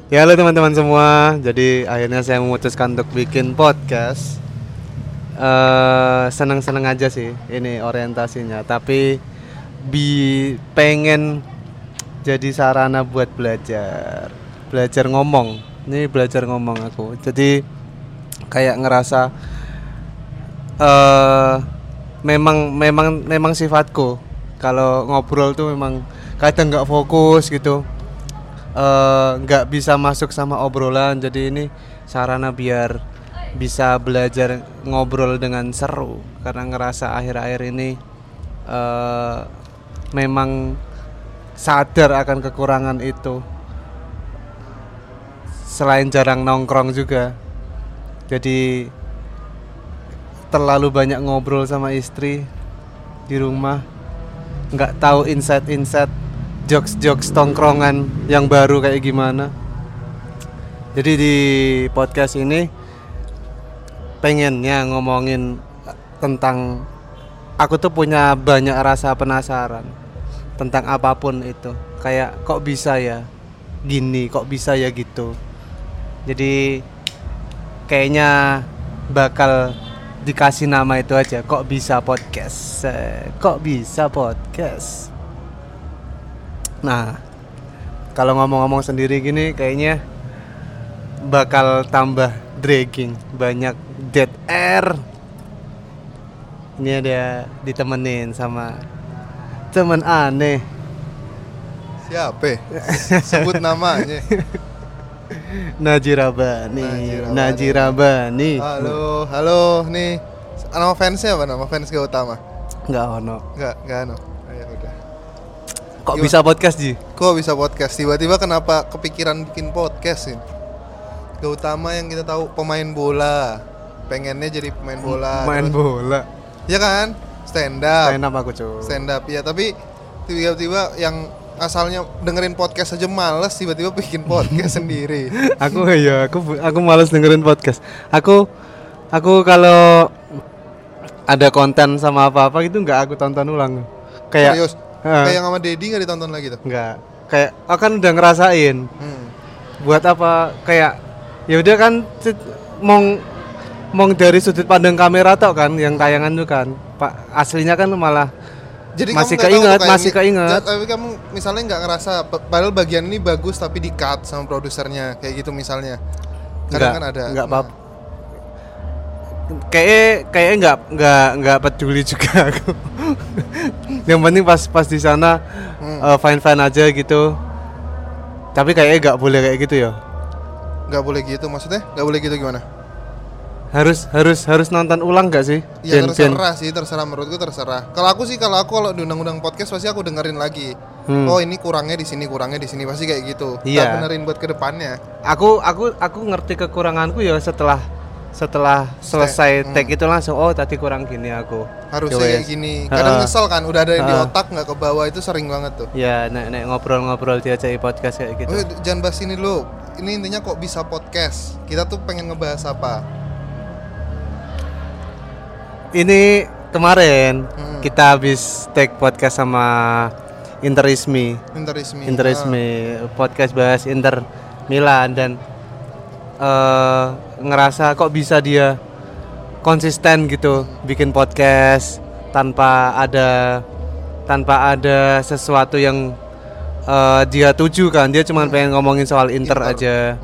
Ya halo teman-teman semua. Jadi akhirnya saya memutuskan untuk bikin podcast. Seneng-seneng aja sih ini orientasinya. Tapi pengen jadi sarana buat belajar. Belajar ngomong. Ini belajar ngomong aku. Jadi kayak ngerasa memang sifatku. Kalau ngobrol tuh memang kadang nggak fokus gitu. Nggak bisa masuk sama obrolan, jadi ini sarana biar bisa belajar ngobrol dengan seru karena ngerasa akhir-akhir ini memang sadar akan kekurangan itu, selain jarang nongkrong juga, jadi terlalu banyak ngobrol sama istri di rumah, nggak tahu insight jokes tongkrongan yang baru kayak gimana. Jadi di podcast ini pengennya ngomongin tentang, aku tuh punya banyak rasa penasaran tentang apapun itu. Kayak kok bisa ya gini, kok bisa ya gitu. Jadi kayaknya bakal dikasih nama itu aja, kok bisa podcast. Kok bisa podcast. Nah, kalau ngomong-ngomong sendiri gini kayaknya bakal tambah dragging, banyak dead air. Ini ada ditemenin sama teman aneh. Siapa? Sebut namanya. Najirabani. Halo, nih. Nama fansnya apa? Nama fans Gautama? Enggak ono. Enggak ono. Ya udah. Kok bisa podcast, Ji? Kok bisa podcast? Tiba-tiba kenapa kepikiran bikin podcast ini? Gautama yang kita tahu pemain bola. Pengennya jadi pemain bola. Main bola. Ya kan? Stand up aku, cuy. Stand up ya, tapi tiba-tiba yang asalnya dengerin podcast aja males, tiba-tiba bikin podcast sendiri. Aku malas dengerin podcast. Aku kalau ada konten sama apa-apa gitu enggak aku tonton ulang. Kayak Serius? Kayak sama Dedi nggak ditonton lagi tuh? enggak. Kayak aku kan udah ngerasain. Buat apa kayak ya udah kan mong dari sudut pandang kamera tok kan yang tayangan tuh kan. Pak aslinya kan malah jadi masih keinget. Tapi kamu misalnya nggak ngerasa padahal bagian ini bagus tapi di cut sama produsernya kayak gitu misalnya. Kadang kan ada. Enggak apa-apa. Kayaknya enggak peduli juga aku. Yang penting pas di sana fine aja gitu. Tapi kayaknya enggak boleh kayak gitu ya. Enggak boleh gitu, maksudnya? Enggak boleh gitu gimana? Harus nonton ulang enggak sih? Ya terserah menurutku terserah. Kalau aku di undang-undang podcast pasti aku dengerin lagi. Oh, ini kurangnya di sini pasti kayak gitu. Iya. Tak benerin buat kedepannya. Aku ngerti kekuranganku ya setelah selesai take itu langsung tadi kurang gini aku. Harusnya kayak gini. Kadang nyesel kan udah ada yang di otak nggak ke bawah, itu sering banget tuh. Ya, nek ngobrol diajak podcast kayak gitu. Oh, jangan bahas ini dulu. Ini intinya kok bisa podcast. Kita tuh pengen ngebahas apa? Ini kemarin kita habis take podcast sama Interismi podcast bahas Inter Milan dan ngerasa kok bisa dia konsisten gitu bikin podcast tanpa ada sesuatu yang dia tuju kan, dia cuma pengen ngomongin soal Inter aja.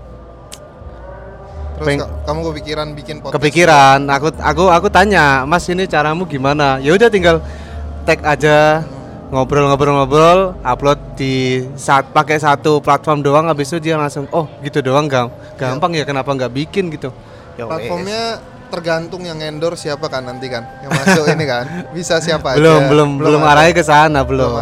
Terus kamu kepikiran bikin podcast? Kepikiran, aku tanya, Mas ini caramu gimana? Ya udah tinggal tag aja, ngobrol, upload di pakai satu platform doang, habis itu dia langsung gitu doang gampang ya kenapa nggak bikin gitu? Ya platformnya tergantung yang endorse siapa kan nanti kan, yang masuk ini kan bisa siapa belum arahnya ke sana belum.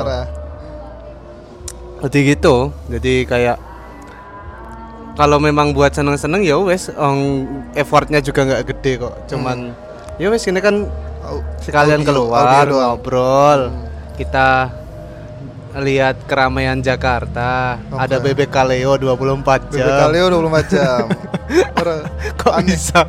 Jadi gitu, jadi kayak kalau memang buat seneng-seneng ya wes, effortnya juga nggak gede kok, cuman ya wes ini kan sekalian keluar ngobrol, kita lihat keramaian Jakarta, ada bebek Kaleo 24 jam. Bebek Kaleo 24 jam. Kok aneh. Bisa?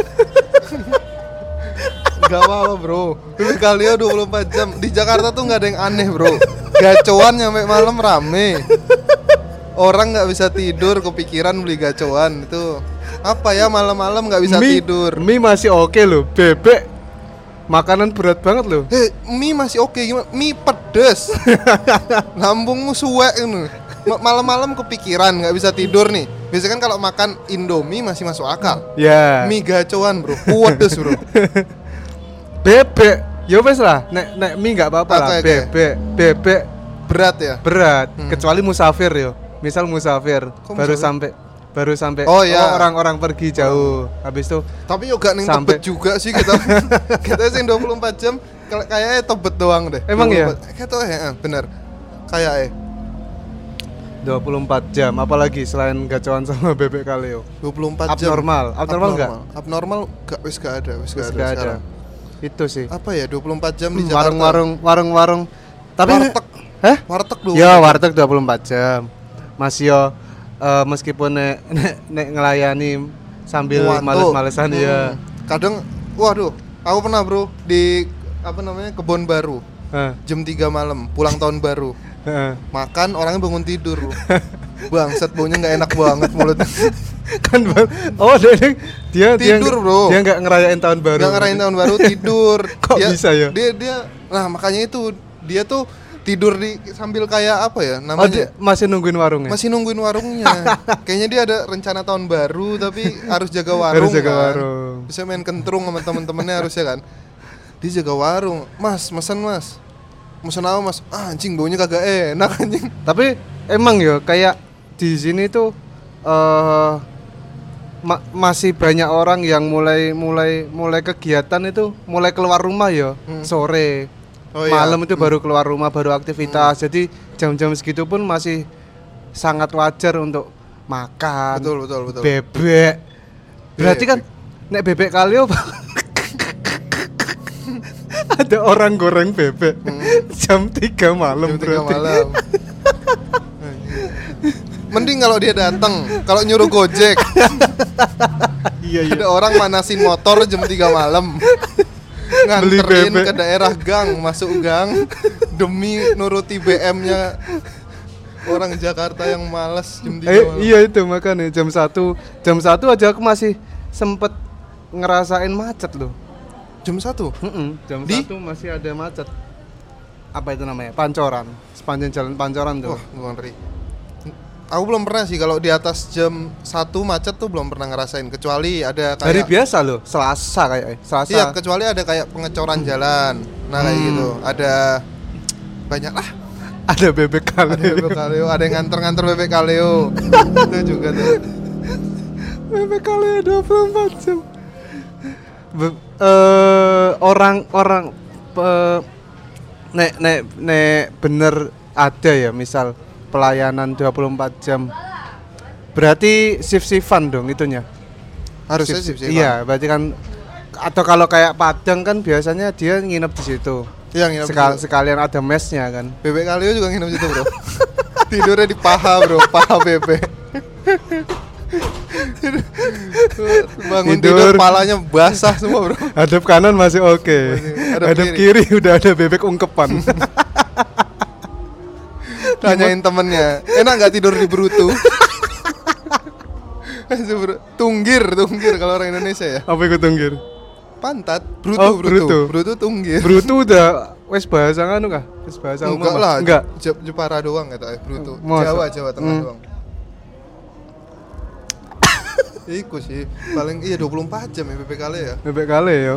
Gak apa-apa bro, bebek Kaleo 24 jam. Di Jakarta tuh gak ada yang aneh bro. Gacoan nyampe malam rame. Orang nggak bisa tidur kepikiran beli gacoan itu apa ya, malam-malam nggak bisa tidur. Mie masih oke loh, bebek makanan berat banget loh. Mie masih oke, gimana? Mie pedes. Lambungmu suwek ini. Malam-malam kepikiran nggak bisa tidur nih. Biasanya kan kalau makan Indomie masih masuk akal. Ya. Mie gacoan bro, pedes bro. Bebek, ya wes lah. Nek mie nggak apa-apa lah. Bebek berat ya. Berat. Kecuali musafir yo. Misal musafir baru sampai oh ya, orang-orang pergi jauh. Habis itu tapi juga nih tebet juga sih kita. Kita sih 24 jam kayaknya tebet doang deh. Emang ya? Kayak ya, bener. Kayak 24 jam apalagi selain gacoan sama bebek kaleo. 24 jam. Abnormal enggak? Abnormal enggak, wis gak ada sekarang. Itu sih. Apa ya 24 jam di Jakarta. Warung-warung. Tapi warteg. Warteg 24 ya, warteg 24 jam. Masih yo meskipun nek ngelayani sambil males-malesan ya. Kadang waduh, aku pernah bro di Kebon Baru. Jam 3 malam pulang tahun baru. Makan orangnya bangun tidur. Bangsat, baunya nggak enak banget mulutnya. Kan dia tidur bro. Dia nggak ngerayain tahun baru. Nggak ngerayain tahun baru, tidur. Kok bisa ya? Dia nah makanya itu dia tuh tidur sambil kayak apa ya namanya? Masih nungguin warungnya. Masih nungguin warungnya. Kayaknya dia ada rencana tahun baru tapi harus jaga warung. Harus jaga kan? warung. Bisa main kentrung sama temen-temennya harusnya kan. Dia jaga warung. Mas, mesen mas. Mesen apa mas? Anjing baunya kagak enak anjing. Tapi emang ya kayak di sini tuh masih banyak orang yang mulai kegiatan itu mulai keluar rumah ya sore. Malam itu baru keluar rumah, baru aktivitas. Jadi jam-jam segitu pun masih sangat wajar untuk makan. Betul. Bebek. Berarti kan nek bebek kaleo ada orang goreng bebek jam 3 malam. Jam 3 malam. Mending kalau dia datang, kalau nyuruh Gojek. Iya. Ada orang manasin motor jam 3 malam. Nganterin ke daerah gang, masuk gang demi nuruti BM-nya orang Jakarta yang malas jam 3 malam. Iya itu makanya jam 1 aja aku masih sempet ngerasain macet loh. Jam 1? Jam 1 masih ada macet. Apa itu namanya? Pancoran. Sepanjang jalan Pancoran tuh. Wah, ngeri. Aku belum pernah sih kalau di atas jam 1 macet tuh belum pernah ngerasain, kecuali ada kayak hari biasa loh, Selasa kayak Selasa. Iya, kecuali ada kayak pengecoran jalan. Nah, kayak gitu. Ada banyak lah. Ada bebek kaleo, ada yang nganter bebek kaleo. Itu juga tuh. Bebek kaleo 24 jam. Orang-orang nek bener ada ya, misal pelayanan 24 jam. Berarti shift-shiftan dong itunya. Harusnya shift-shiftan. Iya, berarti kan atau kalau kayak Padang kan biasanya dia nginep di situ. Iya, nginep sekalian ada mesnya kan. Bebek kaleo juga nginep di situ, Bro. Tidurnya di paha, Bro, paha bebek. Bangun tidur palanya basah semua, Bro. Hadap kanan masih oke. Hadap kiri udah ada bebek ungkepan. Tanyain temennya, enak nggak tidur di Brutu? Tunggir kalau orang Indonesia ya. Apa itu tunggir? Pantat, Brutu tunggir. Brutu udah wes bahasa nganu kah? Wes bahasa umum. Enggak lah, enggak. Jepara doang kata Brutu. Jawa Tengah doang. Iku sih, paling 24 jam ya bebek kale ya. Bebek kale ya.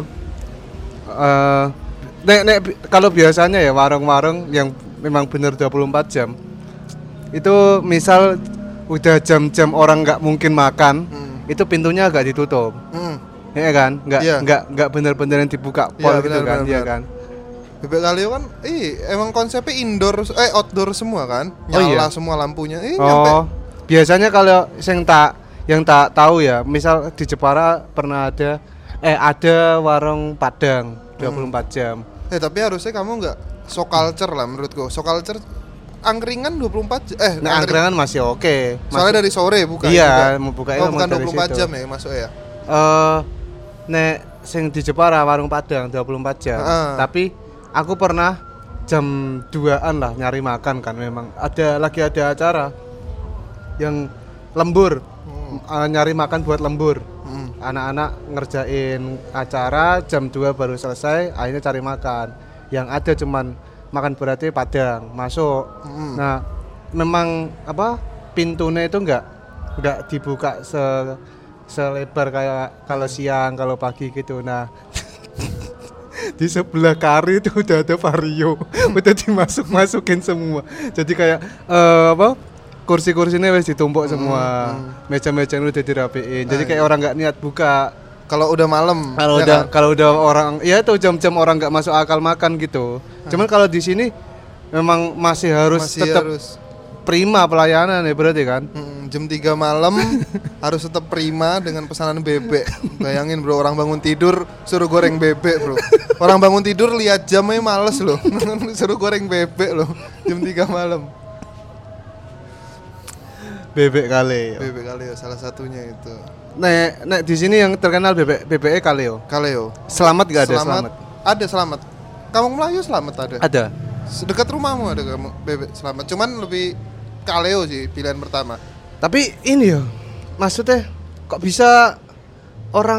Nek kalau biasanya ya warung-warung yang memang bener 24 jam. Itu misal udah jam-jam orang nggak mungkin makan, itu pintunya agak ditutup. Ya kan? Nggak bener-bener yang dibuka pol gitu kan, iya kan. Bebek kaleo kan emang konsepnya outdoor semua kan. Nyala semua lampunya. Nyampe. Biasanya kalau yang tak tahu ya, misal di Jepara pernah ada warung Padang 24 jam. Tapi harusnya kamu nggak so culture lah menurutku. So culture angkringan 24 jam. Angkringan masih oke. Soalnya dari sore buka. Iya, mau buka itu bukan 24 jam ya masuk ya. Nek sing di Jepara warung Padang 24 jam. Tapi aku pernah jam 2-an lah nyari makan kan, memang lagi ada acara. yang lembur. Nyari makan buat lembur. Anak-anak ngerjain acara jam 2 baru selesai, akhirnya cari makan. Yang ada cuman makan beratnya Padang masuk. Nah, memang apa pintunya itu enggak dibuka selebar kayak kalau siang, kalau pagi gitu. Nah, di sebelah kari itu udah ada vario, udah dimasukin semua. Jadi kayak kursi-kursinya wes ditumpuk semua, meja-meja udah dirapiin. Jadi kayak orang nggak niat buka. Kalau udah malam, Kalau udah orang, ya itu jam-jam orang nggak masuk akal makan gitu. Cuman kalau di sini memang masih tetap prima pelayanan ya berarti kan. Jam 3 malam harus tetap prima dengan pesanan bebek. Bayangin bro, orang bangun tidur suruh goreng bebek bro. Orang bangun tidur lihat jamnya males loh. Suruh goreng bebek loh jam 3 malam. Bebek Kaleo. Bebek Kaleo salah satunya itu. Nek di sini yang terkenal bebek Kaleo. Kaleo. Selamat gak ada selamat? Ada selamat. Kampung Melayu selamat ada. Ada. Dekat rumahmu ada kamu bebek selamat. Cuman lebih Kaleo sih pilihan pertama. Tapi ini ya, maksudnya kok bisa orang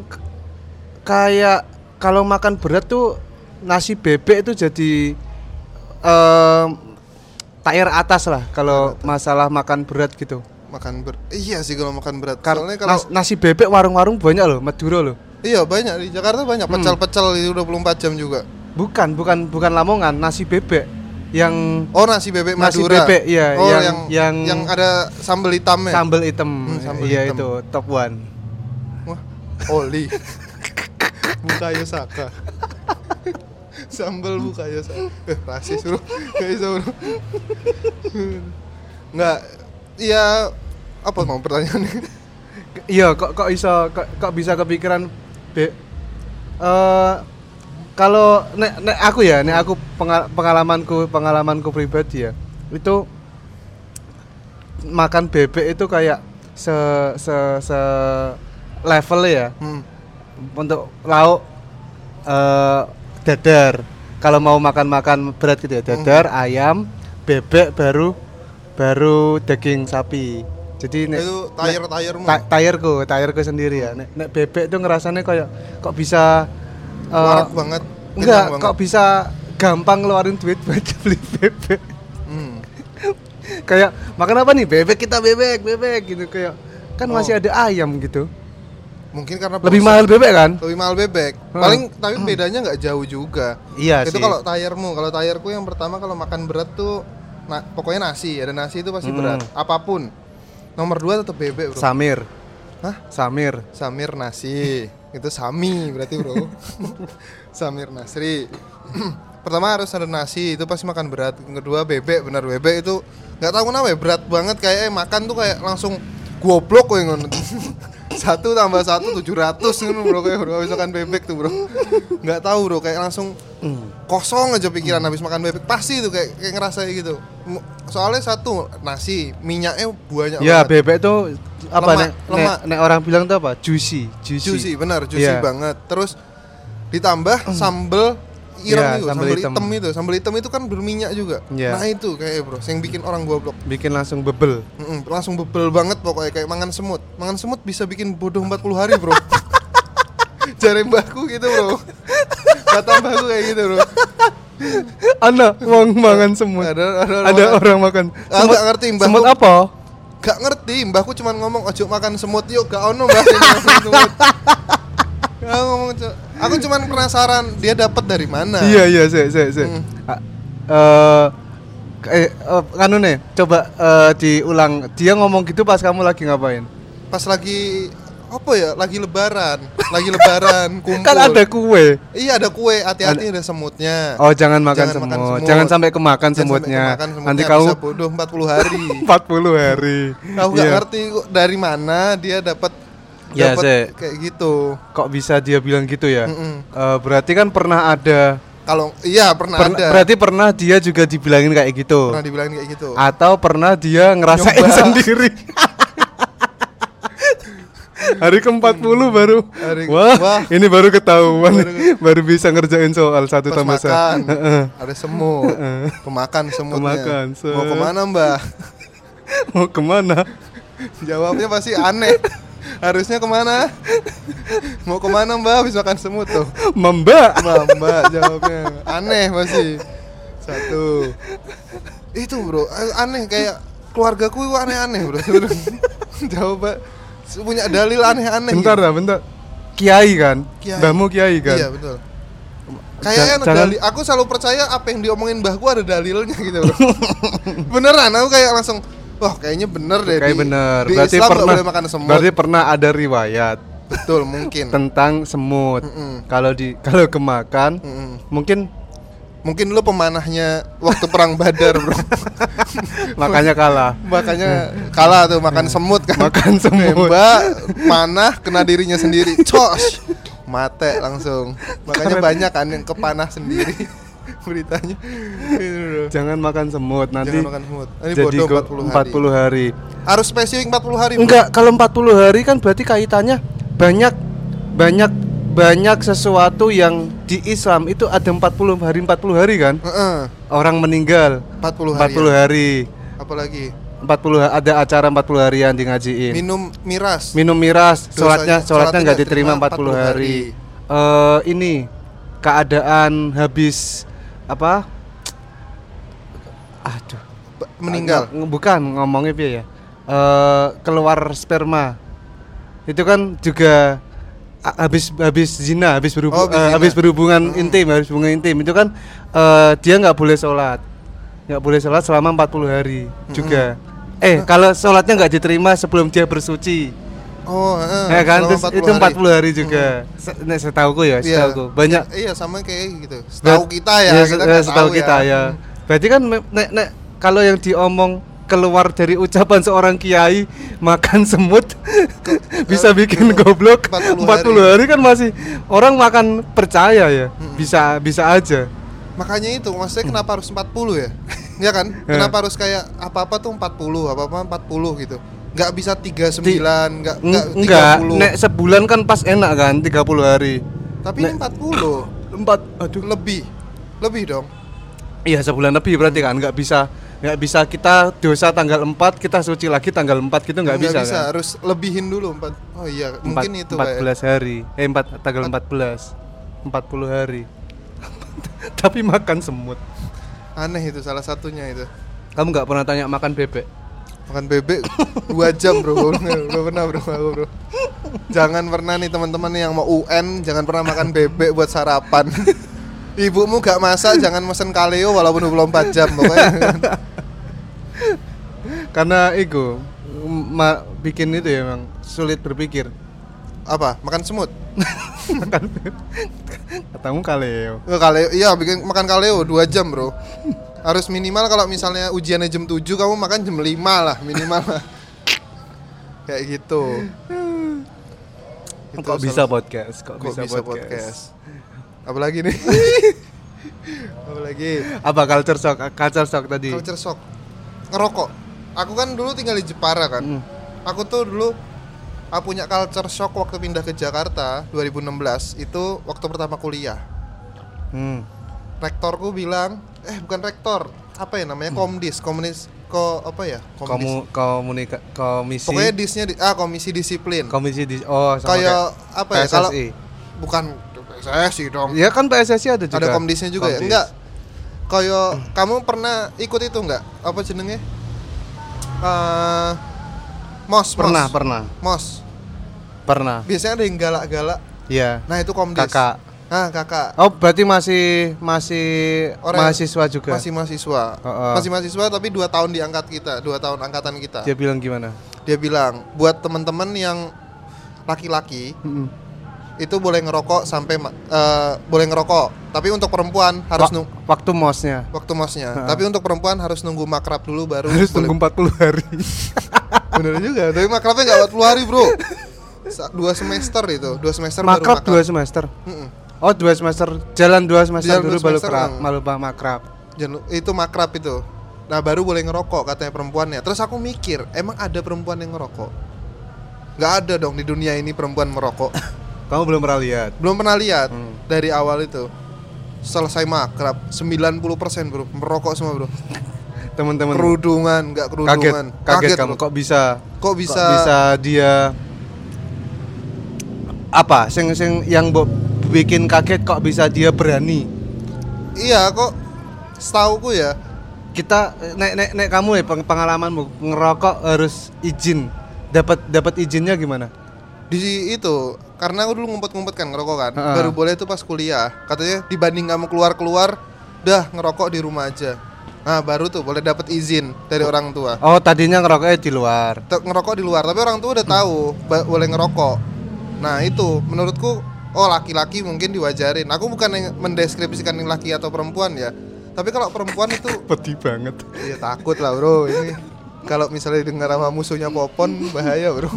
kayak kalau makan berat tuh nasi bebek itu jadi tier atas lah kalau masalah makan berat gitu. Iya sih kalau makan berat. Soalnya kalau nasi bebek warung-warung banyak loh, Madura loh. Iya banyak di Jakarta banyak pecel-pecel itu 24 jam juga. Bukan Lamongan, nasi bebek yang nasi bebek Madura. Nasi bebek iya, yang ada sambal hitamnya. Sambal hitam. Iya hitam. Itu top one. Wah, Oli. Bukayo Saka. Sambal Bukayo Saka. Rasis bro. Gak bisa bro. Enggak. Iya, apa mau pertanyaannya? Iya, kok bisa kepikiran kalau nek aku pengalamanku pribadi ya. Itu makan bebek itu kayak se level ya. Untuk lauk dadar. Kalau mau makan berat gitu ya, dadar, ayam, bebek baru daging sapi. Jadi itu tayarmu. Tayarku sendiri ya. Nek bebek tuh ngerasanya kayak kok bisa warak banget. Enggak, kok bisa gampang ngeluarin duit buat beli bebek. Kayak makan apa nih? Bebek gitu kayak kan masih ada ayam gitu. Mungkin karena lebih mahal bebek kan? Lebih mahal bebek. Paling tapi bedanya nggak jauh juga. Iya itu sih. Kalau tayarku yang pertama kalau makan berat tuh pokoknya nasi, ada nasi itu pasti berat. Apapun. Nomor 2 tetap bebek, bro. Samir. Hah? Samir nasi. Itu Sami berarti, bro. Samir Nasri. Pertama harus ada nasi, itu pasti makan berat. Yang kedua bebek, benar bebek itu enggak tahu kenapa ya berat banget kayak makan tuh kayak langsung goblok kowe ngono. 1 tambah 1 700 ngono bro kayak bro habis makan bebek tuh bro. Enggak tahu bro kayak langsung kosong aja pikiran habis makan bebek. Pasti itu kayak ngerasa gitu. Soalnya 1 nasi, minyaknya banyak banget. Ya bebek tuh apa nek orang bilang tuh apa? Juicy, benar, juicy banget. Terus ditambah sambel ireng itu, sambal hitam itu kan berminyak juga. Nah itu kayak bro, yang bikin orang goblok. Bikin langsung bebel. Langsung bebel banget pokoknya kayak mangan semut. Mangan semut bisa bikin bodoh 40 hari bro. Jare mbahku gitu bro. Kata mbahku kayak gitu bro. Ana wong mangan semut. Ada orang makan. Semut gak ngerti mbahku. Semut apa? Gak ngerti, mbahku cuma ngomong ojo makan semut yuk, gak ono mbah semut. Aku cuman penasaran dia dapat dari mana. Iya, anu nih, coba diulang. Dia ngomong gitu pas kamu lagi ngapain? Pas lagi apa ya? Lagi lebaran kumpul. Kan ada kue. Iya, ada kue, hati-hati ada semutnya. Oh, jangan makan semut. Jangan sampai kemakan semutnya. Nanti kamu bisa bodoh 40 hari. 40 hari. Aku gak ngerti dari mana dia dapat kayak gitu. Kok bisa dia bilang gitu ya? Berarti kan pernah ada. Kalau iya pernah ada. Berarti pernah dia juga dibilangin kayak gitu. Pernah dibilangin kayak gitu. Atau pernah dia ngerasain sendiri. Hari ke-40 baru. Wah, ini baru ketahuan. Baru bisa ngerjain soal 1 tambah 1. Ada semut. Pemakan semutnya. Mau kemana mbak? Mau kemana? Jawabnya pasti aneh. Harusnya kemana? Mau kemana mbak habis makan semut tuh? Mbak. Mbak jawabnya aneh pasti. Satu. Itu bro, aneh kayak keluargaku itu aneh-aneh bro. Jawab punya dalil aneh-aneh. Bentar gitu. lah, bentar. Kiai kan? Kiai. Mbahmu kiai kan? Iya betul. Kayaknya dalil, aku selalu percaya apa yang diomongin mbahku ada dalilnya gitu bro. Beneran, aku kayak langsung, wah kayaknya bener deh. Kayak bener. Di Berarti Islam pernah. gak boleh makan semut. Berarti pernah ada riwayat. Betul mungkin. Tentang semut. Kalau kemakan, Mungkin lu pemanahnya waktu perang Badar bro. makanya kalah. Makanya kalah tuh makan semut kan. Makan semut. Nembak, manah kena dirinya sendiri. Cos. Mate langsung. Makanya banyak kan yang kepanah sendiri beritanya. Jangan makan semut nanti. Jangan makan semut. Ini Jadi bodoh 40 hari. Harus spesifik 40 hari. Bro. Enggak, kalau 40 hari kan berarti kaitannya banyak sesuatu yang di Islam itu ada 40 hari kan? Orang meninggal 40 hari. Apalagi 40 ada acara 40 harian di ngajiin. Minum miras. Sholatnya nggak diterima 40 hari. Ini keadaan habis apa? Aduh, meninggal. Bukan ngomongnya piye ya? Keluar sperma. Itu kan juga habis zina, habis berhubungan intim itu kan dia nggak boleh sholat selama 40 hari juga. Kalau sholatnya nggak diterima sebelum dia bersuci. Ya kan, terus itu 40 hari juga. Setahuku ya, setahuku. Banyak. Iya, sama kayak gitu. Setahu kita ya, setahu kita ya. Berarti kan kalau yang diomong keluar dari ucapan seorang kiai makan semut bisa bikin goblok 40 hari kan masih orang makan percaya ya. Bisa aja. Makanya itu maksudnya kenapa harus 40 ya? Ya kan? Kenapa harus kayak apa-apa tuh 40, apa-apa 40 gitu. Enggak bisa 39, enggak 30. Nek sebulan kan pas enak kan 30 hari. Tapi ini 40. Aduh, Lebih dong. Iya, sebulan lebih berarti kan nggak bisa kita dosa tanggal 4 kita suci lagi tanggal 4 gitu nggak bisa kan? Harus lebihin dulu 4. Oh iya, mungkin itu 14 hari. Tanggal 14. 40 hari. Tapi makan semut. Aneh itu salah satunya itu. Kamu nggak pernah tanya makan bebek? Makan bebek 2 jam bro. Belum pernah bro. Jangan pernah nih teman-teman yang mau UN, jangan pernah makan bebek buat sarapan. Ibumu gak masak, jangan mesen kaleo walaupun 24 jam pokoknya. Karena itu bikin itu ya memang sulit berpikir. Apa? Makan semut? Makan katamu kaleo. Kaleo, iya bikin makan kaleo 2 jam bro. Harus minimal kalau misalnya ujiannya jam 7 kamu makan jam 5 lah minimal lah. Kayak gitu. Kok bisa podcast? Kok bisa podcast? Apalagi nih? Apalagi? Apa culture shock tadi? Culture shock. Ngerokok. Aku kan dulu tinggal di Jepara kan. Aku tuh dulu punya culture shock waktu pindah ke Jakarta 2016. Itu waktu pertama kuliah. Rektorku bilang, bukan rektor, apa ya namanya? Komisi. Komisi. Pokoknya disnya komisi disiplin. Sama kayak apa ya? PSSI. Kalau bukan PSSI dong. Ya kan PSSI ada juga. Ada komdisnya juga ya? Enggak. Kayak kamu pernah ikut itu enggak? Apa jenenge? MOS. Pernah. Biasanya ada yang galak-galak. Iya. Nah, itu komdis. Kakak. Oh, berarti masih mahasiswa juga. Masih mahasiswa. Masih mahasiswa tapi 2 tahun diangkat kita, 2 tahun angkatan kita. Dia bilang gimana? Dia bilang, buat teman-teman yang laki-laki itu boleh ngerokok sampai boleh ngerokok, tapi untuk perempuan harus waktu mosnya. Tapi untuk perempuan harus nunggu makrab dulu baru harus nunggu 40 hari. Bener juga, tapi makrabnya enggak 40 hari, Bro. 2 semester itu, 2 semester makrab baru 2 semester. Oh, 2 semester. Jalan 2 semester dulu baru makrab. Itu makrab itu. Nah, baru boleh ngerokok katanya perempuannya. Terus aku mikir, emang ada perempuan yang ngerokok? Enggak ada dong di dunia ini perempuan merokok. Kamu belum pernah lihat? Belum pernah lihat. Dari awal itu selesai makrab 90% bro merokok semua bro. teman-teman? Nggak kerudungan. Kaget kamu. bro. Kok bisa Kok bisa dia apa? Sing yang bikin kaget kok bisa dia berani? Iya kok setauku ya. Kita nek kamu ya pengalamanmu ngerokok harus izin. Dapat izinnya gimana? Di itu karena aku dulu ngumpet-ngumpet kan ngerokok kan. Heeh. Baru boleh tuh pas kuliah. Katanya dibanding kamu keluar-keluar, dah ngerokok di rumah aja. Nah, baru tuh boleh dapat izin dari orang tua. Oh, tadinya ngerokoknya di luar. Ngerokok di luar, tapi orang tua udah tahu boleh ngerokok. Nah, itu menurutku laki-laki mungkin diwajarin. Aku bukan yang mendeskripsikan yang laki atau perempuan ya. Tapi kalau perempuan itu Pedih banget. ya takut lah, Bro. Ini kalau misalnya dengar sama musuhnya Popon bahaya, Bro.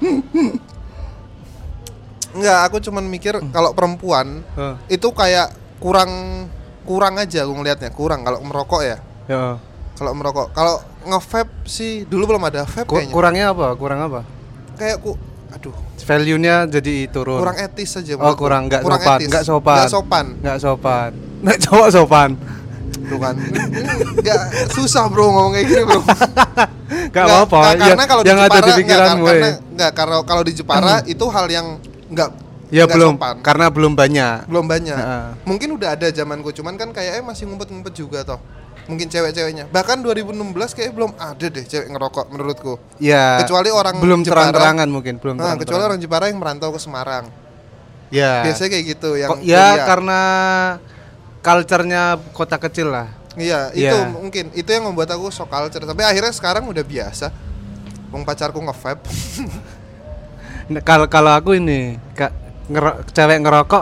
Enggak, aku cuman mikir kalau perempuan itu kayak kurang aja aku ngelihatnya, kurang kalau merokok ya. Ya. Kalau merokok, kalau nge-vape sih dulu belum ada vape kayaknya. Kurang apa? Kayak aduh, Value-nya jadi turun. kurang etis aja. Oh, kurang enggak sopan. Enggak sopan. Nek cowok sopan. Tuh kan. Enggak susah, Bro, ngomong kayak gini, Bro. Enggak apa-apa. Karena kalau di yang Jepara ada di pikiranmu. kalau di Jepara itu hal yang enggak belum sopan. karena belum banyak. Mungkin udah ada zamanku, cuman kan kayaknya masih ngumpet-ngumpet juga toh. Mungkin cewek-ceweknya. Bahkan 2016 kayak belum ada deh cewek ngerokok menurutku. Ya. Kecuali orang belum Jepara, terang-terangan mungkin, belum terang-terangan. Kecuali orang Jepara yang merantau ke Semarang. Ya. Biasanya kayak gitu yang karena culture-nya kota kecil lah. Iya, itu mungkin itu yang membuat aku shock culture. Tapi akhirnya sekarang udah biasa. Wong pacarku nge-vape. Kalau aku ini cewek ngerokok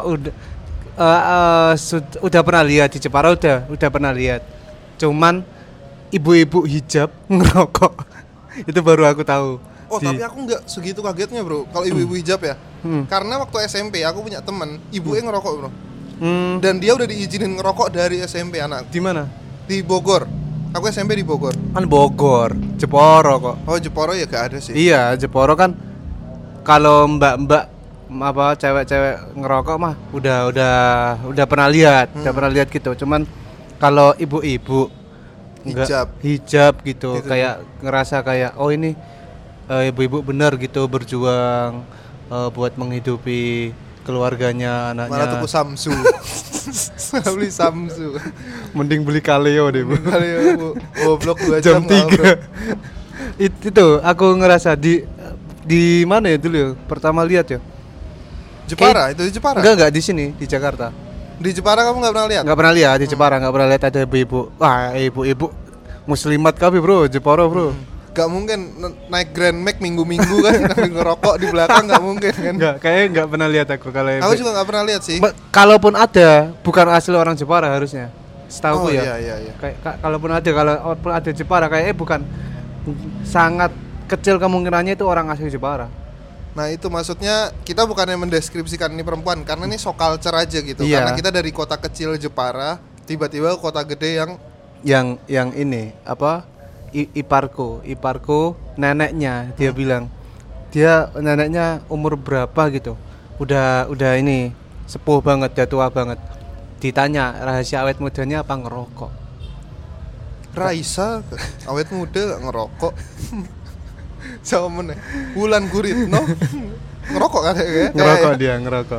udah pernah lihat di Jepara, udah pernah lihat. Cuman ibu-ibu hijab ngerokok. Itu baru aku tahu. Tapi aku nggak segitu kagetnya, Bro. Kalau ibu-ibu hijab ya. Karena waktu SMP aku punya teman, ibunya ngerokok, Bro. Dan dia udah diizinin ngerokok dari SMP anak. Di mana? Di Bogor. Aku SMP di Bogor. Kan Bogor, Jeporo kok. Oh, Jeporo ya gak ada sih. Iya, Jeporo kan kalau mbak-mbak apa cewek-cewek ngerokok mah udah pernah lihat, gitu. Cuman kalau ibu-ibu hijab gitu, kayak ngerasa kayak ini ibu-ibu bener gitu berjuang buat menghidupi keluarganya, anaknya. Malah tuku Samsu. Beli Samsu. Mending beli Kaleo deh, Bu. Kaleo, Bu. Goblok 2 jam 3. Itu aku ngerasa di mana ya dulu ya? Pertama lihat ya. Jepara, itu di Jepara? Enggak di sini, di Jakarta. Di Jepara kamu enggak pernah lihat? Enggak pernah lihat di Jepara, enggak pernah lihat ada ibu-ibu. Wah, ibu-ibu muslimat kami, Bro, Jepara, Bro. Gak mungkin naik Grand Max minggu-minggu kan sambil ngerokok di belakang, gak mungkin kan. Kayaknya gak pernah lihat aku kalau Aku juga gak pernah lihat sih. Kalaupun ada, bukan asli orang Jepara harusnya. Setahu ya. Iya. Kayak kalaupun ada Jepara kayaknya bukan, sangat kecil kemungkinannya itu orang asli Jepara. Nah, itu maksudnya kita bukannya mendeskripsikan ini perempuan karena ini shock culture aja gitu. Iya. Karena kita dari kota kecil Jepara tiba-tiba kota gede yang ini apa? Iparku neneknya dia bilang neneknya umur berapa gitu, udah ini sepuh banget, udah tua banget. Ditanya rahasia awet mudanya apa, ngerokok. Raisa awet muda gak ngerokok. Sama meneh Wulan Guritno ngerokok kan ya? Ngerokok.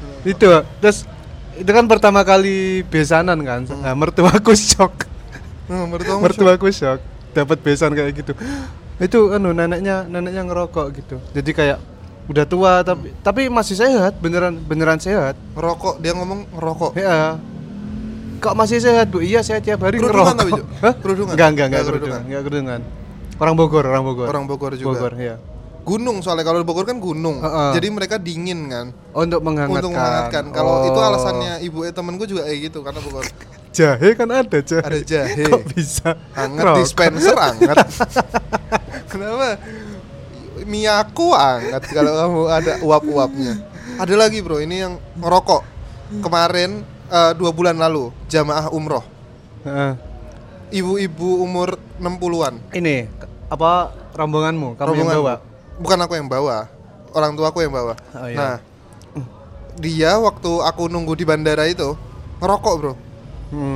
Itu kan pertama kali besanan kan. Nah, mertuaku shock. Mertuaku shock dapat besan kayak gitu. Itu neneknya ngerokok gitu. Jadi kayak udah tua tapi masih sehat, beneran sehat. Ngerokok, dia ngomong ngerokok. Ya. Kok masih sehat, Bu? Iya, saya tiap hari kerudungan ngerokok. Tapi, hah? Kerudungan? Enggak kerudungan. Orang Bogor juga. Bogor, ya. Gunung, soalnya kalau di Bogor kan gunung. Jadi mereka dingin kan. Untuk menghangatkan. Kalau itu alasannya ibu temenku juga kayak gitu karena Bogor. Jahe kan ada jahe. Ada jahe. Kok bisa hangat dispenser hangat. Kenapa? Miyaku hangat kalau kamu ada uap-uapnya. Ada lagi, Bro, ini yang ngerokok. Kemarin 2 bulan lalu jamaah umroh. Ibu-ibu umur 60-an. Ini apa rombonganmu? Kamu yang bawa? Bukan aku yang bawa. Orang tuaku yang bawa. Oh, iya. Nah, dia waktu aku nunggu di bandara itu ngerokok, Bro.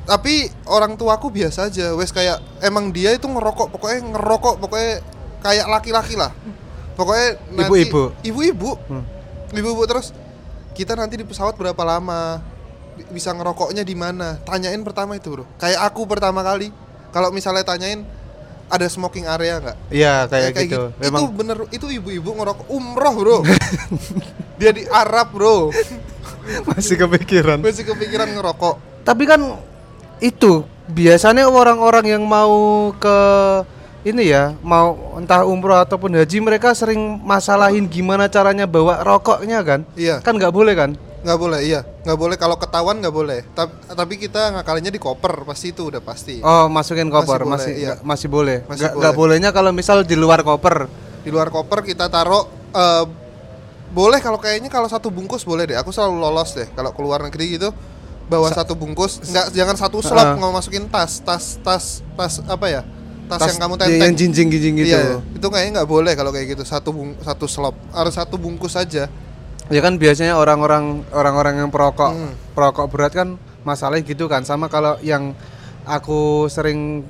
Tapi orang tuaku biasa aja, wes kayak emang dia itu ngerokok pokoknya kayak laki-laki lah. Pokoknya nanti ibu-ibu terus kita nanti di pesawat berapa lama, bisa ngerokoknya di mana? Tanyain pertama itu, Bro. Kayak aku pertama kali kalau misalnya tanyain ada smoking area nggak? Iya kayak gitu. Itu bener, itu ibu-ibu ngerokok umroh, Bro. Dia di Arab, Bro. Masih kepikiran ngerokok. Tapi kan itu biasanya orang-orang yang mau ke ini ya, mau entah umroh ataupun haji, mereka sering masalahin gimana caranya bawa rokoknya kan? Iya. Kan nggak boleh kan? Nggak boleh, iya. Nggak boleh, kalau ketahuan nggak boleh. Tapi kita ngakalinnya di koper, pasti itu udah pasti. Oh, masukin koper, masih boleh. Nggak bolehnya kalau misal di luar koper. Di luar koper kita taruh boleh kalau kayaknya kalau satu bungkus boleh deh. Aku selalu lolos deh kalau keluar negeri gitu. Bawa satu bungkus, jangan satu slop, nggak masukin tas apa ya? Tas yang kamu tenteng. Yang jinjing gitu. Iya, itu kayaknya nggak boleh kalau kayak gitu. Satu slop, harus satu bungkus aja. Ya kan biasanya orang-orang yang perokok berat kan masalahnya gitu kan. Sama kalau yang aku sering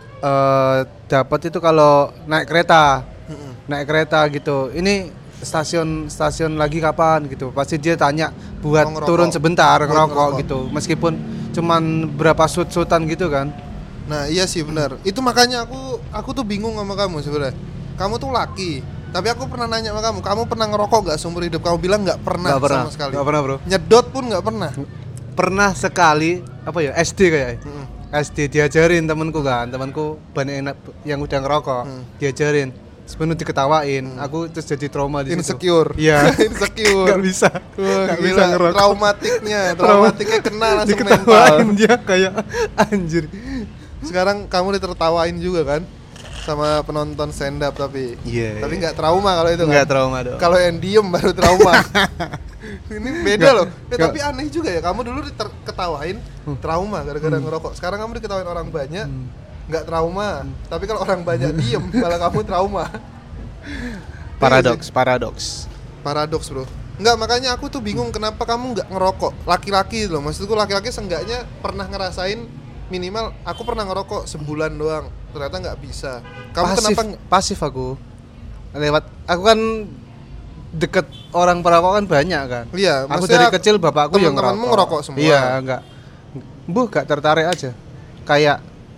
dapat itu kalau naik kereta gitu. Ini stasiun lagi kapan gitu. Pasti dia tanya buat turun sebentar ngerokok gitu. Meskipun cuman berapa sut-sutan gitu kan. Nah, iya sih benar. Itu makanya aku tuh bingung sama kamu sebenarnya. Kamu tuh laki, tapi aku pernah nanya sama kamu pernah ngerokok gak seumur hidup? Kamu bilang gak pernah sama sekali. Gak pernah, Bro. Nyedot pun gak pernah. Pernah sekali, apa ya, SD kayaknya. SD diajarin temanku banyak yang udah ngerokok. Diajarin, sepenuh diketawain. Aku terus jadi trauma di situ. Insecure. Iya. Insecure. Gak bisa. Gak bisa ngerokok. Traumatiknya kena langsung diketawain mental. Dia kayak anjir. Sekarang kamu ditertawain juga kan sama penonton stand up tapi nggak trauma kalau itu kan? Nggak trauma dong. Kalau yang diem baru trauma. Ini beda loh. Tapi aneh juga ya, kamu dulu diketawain trauma gara-gara ngerokok. Sekarang kamu diketawain orang banyak nggak trauma. Tapi kalau orang banyak diem malah kamu trauma. Paradoks, Bro. Enggak, makanya aku tuh bingung kenapa kamu nggak ngerokok. Laki-laki loh, maksudku laki-laki seenggaknya pernah ngerasain. Minimal aku pernah ngerokok sebulan doang, ternyata nggak bisa. Kamu kenapa? Pasif aku kan deket orang perokok kan banyak kan. Iya, aku dari kecil bapakku yang ngerokok semua. Iya, gak tertarik aja. Kayak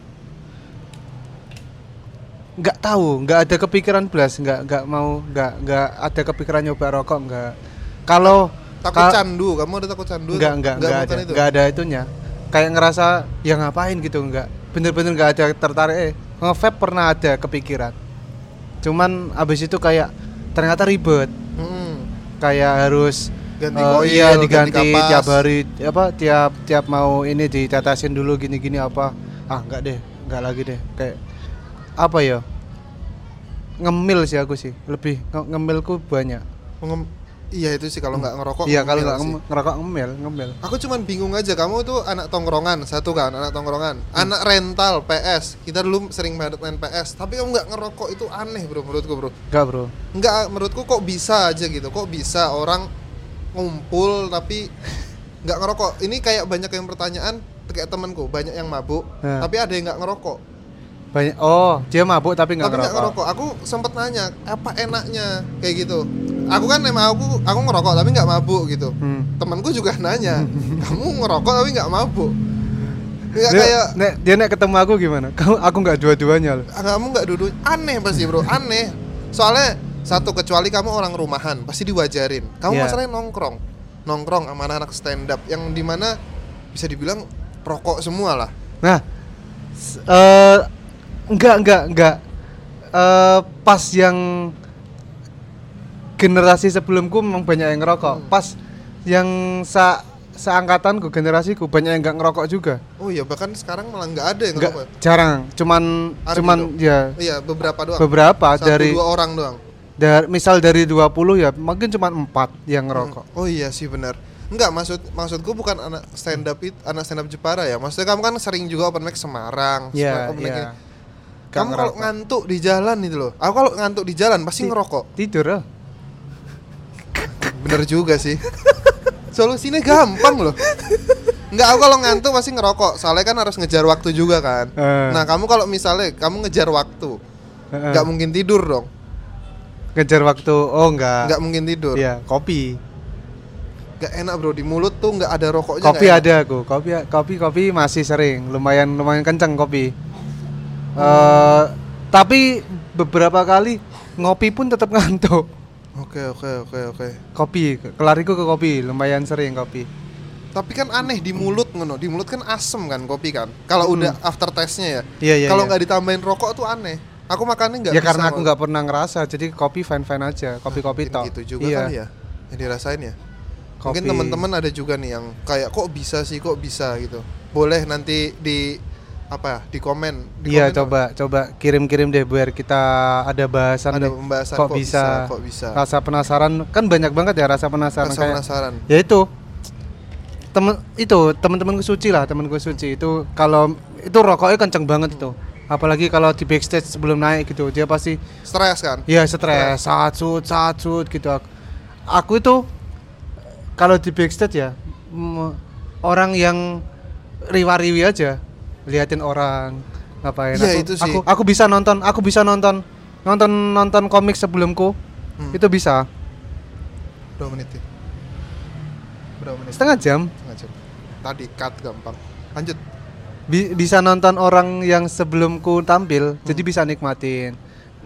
nggak tahu, nggak ada kepikiran belas, nggak ada kepikiran nyoba rokok, nggak. Kalau takut candu, kamu ada takut candu? Nggak ada itunya. Kayak ngerasa ya ngapain gitu, enggak, bener-bener nggak ada tertarik. Nge-vape pernah ada kepikiran, cuman abis itu kayak ternyata ribet. Kayak harus ganti koil, diganti tiap hari, tiap mau ini ditetesin dulu gini apa. Enggak lagi deh. Kayak apa ya, ngemil sih aku sih, lebih ngemilku banyak. Iya itu sih kalau nggak ngerokok. Iya kalau nggak ngerokok ngemil. Aku cuman bingung aja, kamu tuh anak tongkrongan satu kan, anak rental PS. Kita dulu sering banget main PS. Tapi kamu nggak ngerokok itu aneh, Bro, menurutku, Bro. Nggak, Bro. Nggak, menurutku kok bisa aja gitu. Kok bisa orang ngumpul tapi nggak ngerokok. Ini kayak banyak yang pertanyaan, kayak temanku banyak yang mabuk, tapi ada yang nggak ngerokok. Banyak. Dia mabuk tapi nggak ngerokok. Aku sempet nanya apa enaknya kayak gitu. Aku kan emang aku ngerokok tapi nggak mabuk gitu. Temanku juga nanya, kamu ngerokok tapi nggak mabuk? Dia nek ketemu aku gimana? Aku nggak dua-duanya loh. Kamu nggak duduk, aneh pasti, Bro, aneh. Soalnya satu, kecuali kamu orang rumahan pasti diwajarin. Kamu masalahnya nongkrong sama anak-anak stand up yang dimana bisa dibilang rokok semua lah. Nah, enggak. Pas yang generasi sebelumku memang banyak yang ngerokok. Pas yang seangkatanku, generasiku banyak yang enggak ngerokok juga. Oh iya, bahkan sekarang malah enggak ada yang ngerokok. Jarang, cuman ya. Iya, beberapa doang. Satu, dari 2 orang doang. Misal dari 20 ya, mungkin cuma 4 yang ngerokok. Oh iya sih benar. Enggak, maksudku bukan anak stand up Jepara ya. Maksudnya kamu kan sering juga open mic Semarang, open mic. Kamu kalau ngantuk di jalan itu loh. Aku kalau ngantuk di jalan pasti ngerokok. Tidur loh. Bener juga sih. Solusinya gampang loh. Enggak, aku kalau ngantuk pasti ngerokok. Soalnya kan harus ngejar waktu juga kan. Nah, kamu kalau misalnya kamu ngejar waktu, enggak mungkin tidur dong. Ngejar waktu, oh enggak. Enggak mungkin tidur. Iya, kopi. Enggak enak bro, di mulut tuh enggak ada rokoknya. Kopi ada aku, kopi masih sering, lumayan kenceng kopi. Tapi beberapa kali ngopi pun tetap ngantuk. Oke. Kopi, kelariku ke kopi, lumayan sering kopi. Tapi kan aneh di mulut ngono. Di mulut kan asem kan kopi kan. Kalau udah after taste-nya ya. Iya. Kalau nggak ditambahin rokok tuh aneh. Aku makannya nggak ya bisa. Karena aku nggak pernah ngerasa, jadi kopi fine aja, kopi tok. Gitu juga kan ya. Yang dirasain ya. Kopi. Mungkin teman-teman ada juga nih yang kayak kok bisa gitu. Boleh nanti di komen. Iya, coba kirim-kirim deh biar kita ada bahasan. Ada pembahasan kok bisa. Rasa penasaran kan banyak banget ya rasa penasaran. Ya itu teman-temanku Suci itu kalau itu rokoknya kenceng banget itu. Apalagi kalau di backstage sebelum naik gitu, dia pasti stres kan? Iya, stres, saat gitu. Aku itu kalau di backstage ya orang yang riwa-riwi aja, liatin orang ngapain. Ya, itu sih. Aku bisa nonton komik sebelumku. Itu bisa. Berapa menit? Setengah jam. Tadi cut gampang. Lanjut. Bisa nonton orang yang sebelumku tampil, jadi bisa nikmatin.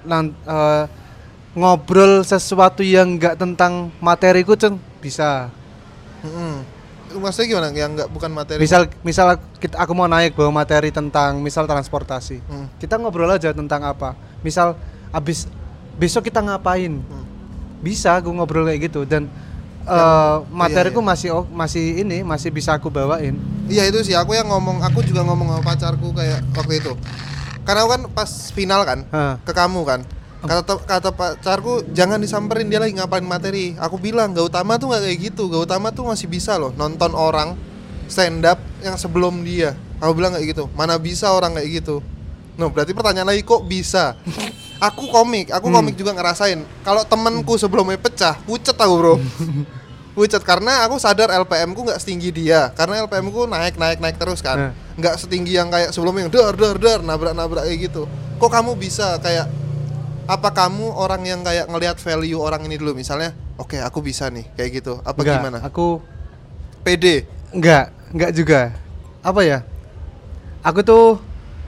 Ngobrol sesuatu yang enggak tentang materiku bisa. Maksudnya gimana? Yang enggak bukan materi. Misal aku mau naik bawa materi tentang misal transportasi. Kita ngobrol aja tentang apa. Misal besok kita ngapain. Bisa aku ngobrol kayak gitu dan materiku masih bisa aku bawain. Iya itu sih aku juga ngomong sama pacarku kayak waktu itu. Karena aku kan pas final kan ke kamu kan. Kata pacarku jangan disamperin, dia lagi ngapain materi. Aku bilang Gautama tuh nggak kayak gitu. Gautama tuh masih bisa loh nonton orang stand up yang sebelum dia. Aku bilang kayak gitu. Mana bisa orang kayak gitu. No, berarti pertanyaan lagi kok bisa. Aku komik juga ngerasain. Kalau temenku sebelumnya pecah, pucet aku bro. Pucet karena aku sadar LPM ku nggak setinggi dia. Karena LPM ku naik terus kan. Nggak setinggi yang kayak sebelumnya yang dar nabrak kayak gitu. Kok kamu bisa kayak apa kamu orang yang kayak ngelihat value orang ini dulu misalnya, oke, aku bisa nih kayak gitu. Apa enggak, gimana? Aku pede. Enggak juga. Apa ya? Aku tuh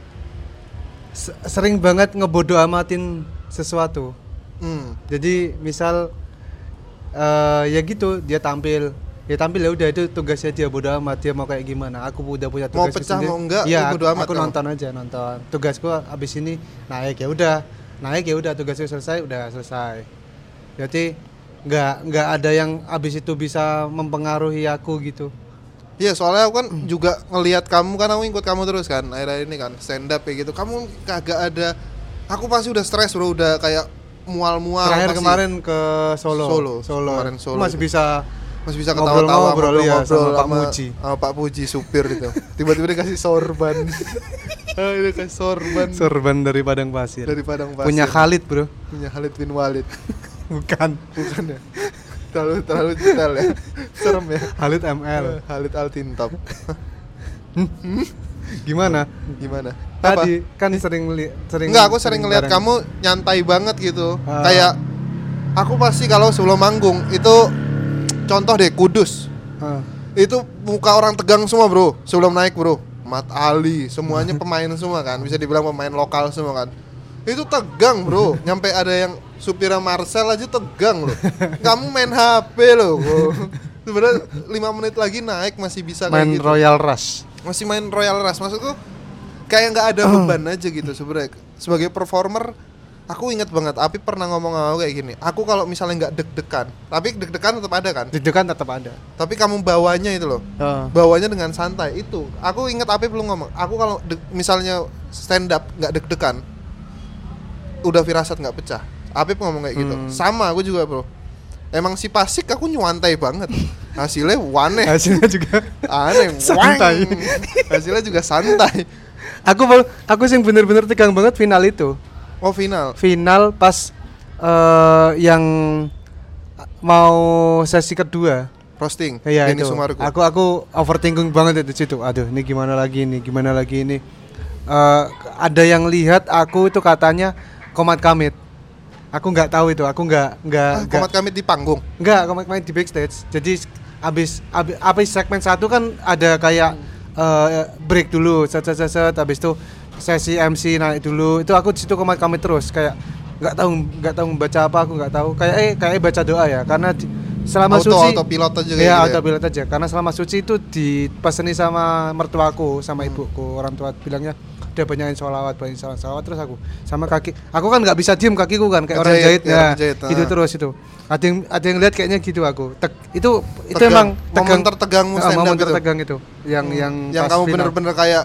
sering banget ngebodo amatin sesuatu. Jadi misal ya gitu, dia tampil ya udah itu tugasnya dia, bodo amat dia mau kayak gimana. Aku udah punya tugas mau pecah sendiri. Mau enggak ya, bodo amat. Aku nonton aja. Tugasku abis ini naik ya udah tugasnya selesai. Jadi nggak ada yang abis itu bisa mempengaruhi aku gitu. Iya, soalnya aku kan juga ngelihat kamu kan, aku ikut kamu terus kan akhir-akhir ini kan stand up kayak gitu. Kamu kagak ada, aku pasti udah stres bro, udah kayak mual-mual. Terakhir kemarin ke Solo. Kemarin Solo masih bisa ketawa-tawa ngobrol ya sama Pak Puji supir itu. Tiba-tiba dikasih sorban. Dia kasih sorban dari Padang Pasir. Punya Khalid bro. Punya Khalid bin Walid. bukan ya. Terlalu detail ya. Serem ya. Khalid ML. Khalid Altintop. Gimana? Tadi kan sering Enggak, aku sering ngeliat kamu nyantai banget gitu. Kayak aku pasti kalau sebelum manggung itu contoh deh Kudus. Itu muka orang tegang semua, bro. Sebelum naik, bro. Mat Ali, semuanya pemain semua kan. Bisa dibilang pemain lokal semua kan. Itu tegang, bro. Nyampe ada yang supirnya Marcel aja tegang loh. Kamu main HP loh. Sebenarnya 5 menit lagi naik masih bisa main kayak gitu. Royal Rush. Masih main Royal Rush. Maksudku kayak nggak ada beban aja gitu sebenarnya. Sebagai performer, aku ingat banget Api pernah ngomong sama aku kayak gini. Aku kalau misalnya nggak deg-degan, tapi deg-degan tetap ada kan? Deg-degan tetap ada. Tapi kamu bawanya itu loh. Bawanya dengan santai itu. Aku ingat Api belum ngomong. Aku kalau misalnya stand up nggak deg-degan, udah firasat nggak pecah. Api ngomong kayak gitu. Sama aku juga bro. Emang si Pasik aku nyuantai banget. Hasilnya aneh. Hasilnya juga aneh. Santai. Hasilnya juga santai. Aku sih bener-bener tegang banget final itu. Oh final. Final pas yang mau sesi kedua. Posting Iya Denny itu. Sumargo. Aku overthinking banget itu situ. Aduh, ini gimana lagi ini? Gimana lagi ini? Ada yang lihat aku itu katanya Komad Kamit. Aku nggak tahu itu. Aku nggak. Komad Kamit di panggung. Nggak, Komad Kamit di backstage. Jadi abis segmen 1 kan ada kayak break dulu, set habis itu sesi MC naik dulu. Itu aku di situ Komad Kamit terus kayak nggak tahu membaca apa, aku nggak tahu. Kayak baca doa ya karena selama suci autopilot aja ya gitu autopilot aja karena selama suci itu dipeseni sama mertuaku sama ibuku, orang tua bilangnya udah banyakin sholawat terus aku sama kaki aku kan nggak bisa diem kakiku kan kayak orang jahit ya gitu terus itu ada yang lihat kayaknya gitu aku itu emang momen tertegangmu stand up momen itu. tertegang itu yang kamu bener-bener kayak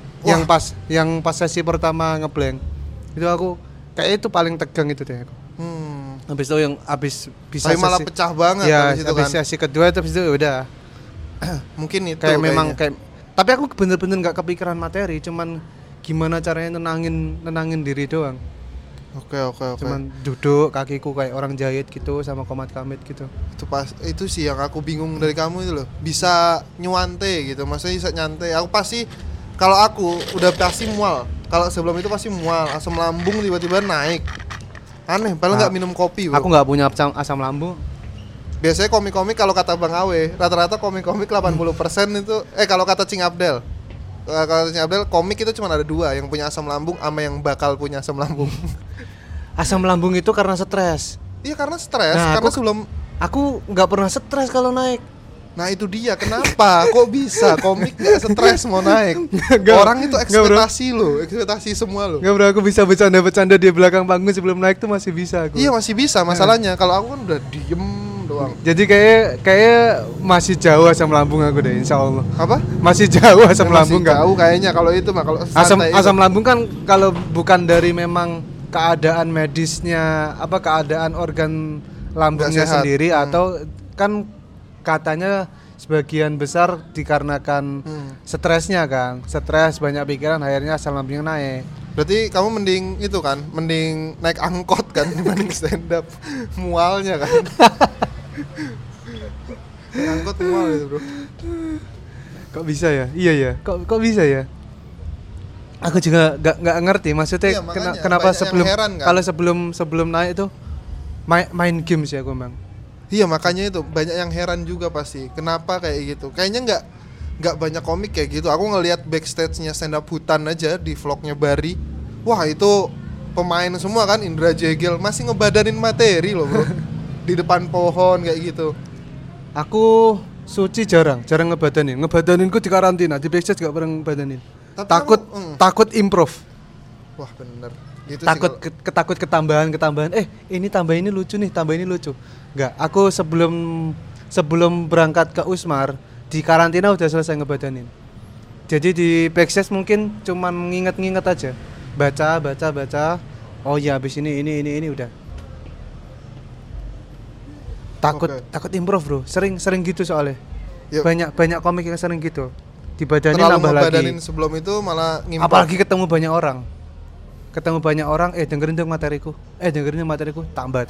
yang pas sesi pertama ngeblank itu aku kayak itu paling tegang itu deh aku. Habis itu yang bisa tapi malah pecah banget ya, habis itu kan. Sesi kedua habis itu udah mungkin itu kayak memang kayak tapi aku bener-bener nggak kepikiran materi, cuman gimana caranya nenangin diri doang. Oke. Cuman duduk kakiku kayak orang jahit gitu sama Komad Kamit gitu. Itu sih yang aku bingung dari kamu itu loh. Bisa nyuante gitu, maksudnya bisa nyantai. Aku pasti kalau aku udah pasti mual. Kalau sebelum itu pasti mual, asam lambung tiba-tiba naik. Aneh, padahal nggak minum kopi bro. Aku nggak punya asam lambung. Biasanya komik-komik kalau kata Bang Awe, rata-rata komik-komik 80% itu kalau kata Cing Abdel. Kalau Cing Abdel komik itu cuma ada 2, yang punya asam lambung sama yang bakal punya asam lambung. Asam lambung itu karena stres. Iya karena stres, karena aku nggak pernah stres kalau naik. Nah itu dia, kenapa? Kok bisa komik gak stres mau naik? Orang itu ekspektasi semua lo. Gak bro, aku bisa bercanda-bercanda di belakang panggung sebelum naik tuh masih bisa aku. Iya masih bisa, masalahnya kalau aku kan udah diem doang. Jadi kayak masih jauh asam lambung aku deh, insya Allah. Apa? Masih jauh asam lambung kan? Jauh kayaknya kalau itu mah, kalau asam lambung kan kalau bukan dari memang keadaan medisnya, keadaan organ lambungnya sendiri atau kan katanya sebagian besar dikarenakan stresnya kan, stres banyak pikiran akhirnya asam lambungnya naik. Berarti kamu mending naik angkot kan dibanding stand up. Mualnya kan. Naik angkot mual itu bro. Kok bisa ya? Iya ya. Kok bisa ya? Aku juga nggak ngerti maksudnya kenapa kan? Kalau sebelum naik itu main games ya aku bang. Iya makanya itu banyak yang heran juga pasti kenapa kayak gitu. Kayaknya nggak banyak komik kayak gitu. Aku ngelihat backstage-nya stand up Hutan aja di vlognya Bari. Wah itu pemain semua kan, Indra Jegel masih ngebadanin materi loh bro. Di depan pohon kayak gitu. Aku suci jarang ngebadaninku di karantina, di backstage gak pernah ngebadanin. Takut improv. Wah bener gitu takut ketambahan ini tambah ini lucu nih, tambah ini lucu. Enggak, aku sebelum berangkat ke Usmar di karantina udah selesai ngebadanin. Jadi di backstage mungkin cuman nginget aja, baca. Oh ya habis ini udah. Takut improv bro, sering gitu soalnya. Yuk. Banyak komik yang sering gitu. Dibadanin nambah lagi. Sebelum itu malah ngimprov. Apalagi ketemu banyak orang, dengerin materiku, tambah.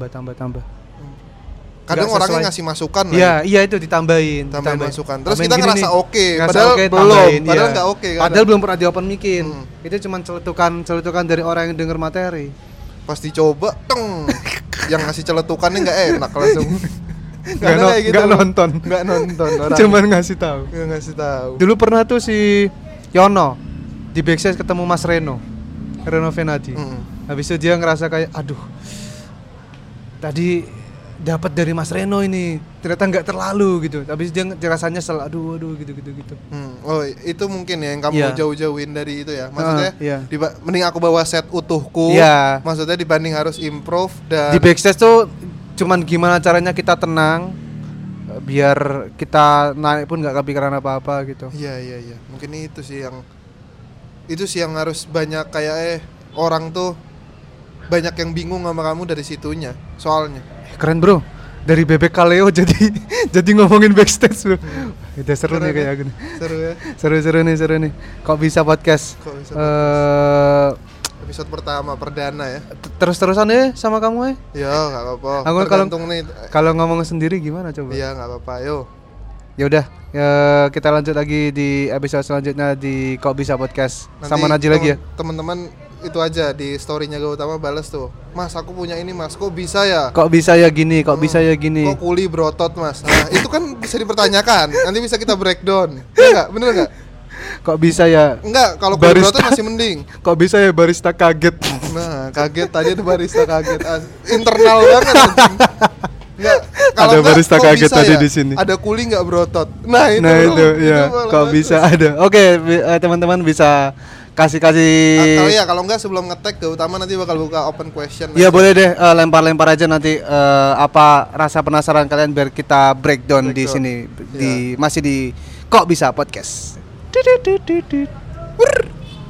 Kadang orangnya ngasih masukan lah. Iya itu ditambahin masukan. Terus kita ngerasa oke, padahal nggak oke. Padahal belum pernah di-open mic-in. Itu cuma celetukan dari orang yang denger materi. Pas dicoba, yang ngasih celetukannya nggak enak langsung. Nggak nonton orang. Cuman ngasih tahu. Dulu pernah tuh si Yono di backstage ketemu Mas Reno Venadi. Habis itu dia ngerasa kayak aduh, tadi dapat dari Mas Reno ini ternyata nggak terlalu gitu. Tapi dia rasanya aduh gitu. Oh itu mungkin ya yang kamu jauh-jauhin dari itu ya. Maksudnya mending aku bawa set utuhku. Maksudnya dibanding harus improv. Dan di backstage tuh cuman gimana caranya kita tenang biar kita naik pun nggak kepikiran apa-apa gitu. Iya. Mungkin itu sih yang harus banyak kayak orang tuh banyak yang bingung sama kamu dari situnya soalnya. Keren bro, dari bebek kaleo jadi ngomongin backstage bro. Udah seru nih kayak gini. Seru ya. Seru nih. Kok bisa podcast? episode pertama perdana ya. Terus-terusan ya sama kamu Ya nggak apa-apa. Aku Tergantung nih. Kalau ngomong sendiri gimana coba? Iya nggak apa-apa. Yo. Ya udah, kita lanjut lagi di episode selanjutnya di Kok Bisa Podcast. Nanti sama Najil lagi ya. Teman-teman itu aja di story-nya Gautama balas tuh. Mas, aku punya ini Mas, kok bisa ya? Kok bisa ya gini, kok bisa ya gini. Kok kuli berotot Mas? Nah, itu kan bisa dipertanyakan. Nanti bisa kita breakdown. Ya enggak? Bener enggak? Kok bisa ya? Enggak, kalau kuli berotot masih mending. Kok bisa ya barista kaget? Nah, kaget tadi ada barista kaget. Internal banget anjing. Enggak, kalau ada barista kaget tadi ya? di sini. Ada kuli enggak berotot. Nah, itu ya. Kok bisa ada. Oke, teman-teman bisa kasih kalau enggak sebelum nge-tag Gautama nanti bakal buka open question. Iya boleh deh, lempar-lempar aja nanti apa rasa penasaran kalian biar kita breakdown di sini masih di Kok Bisa Podcast.